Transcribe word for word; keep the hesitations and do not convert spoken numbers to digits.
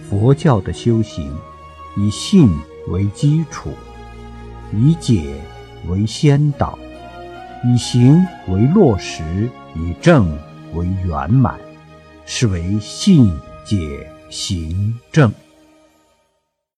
佛教的修行以信为基础，以解为先导，以行为落实，以正为圆满，是为信解行正。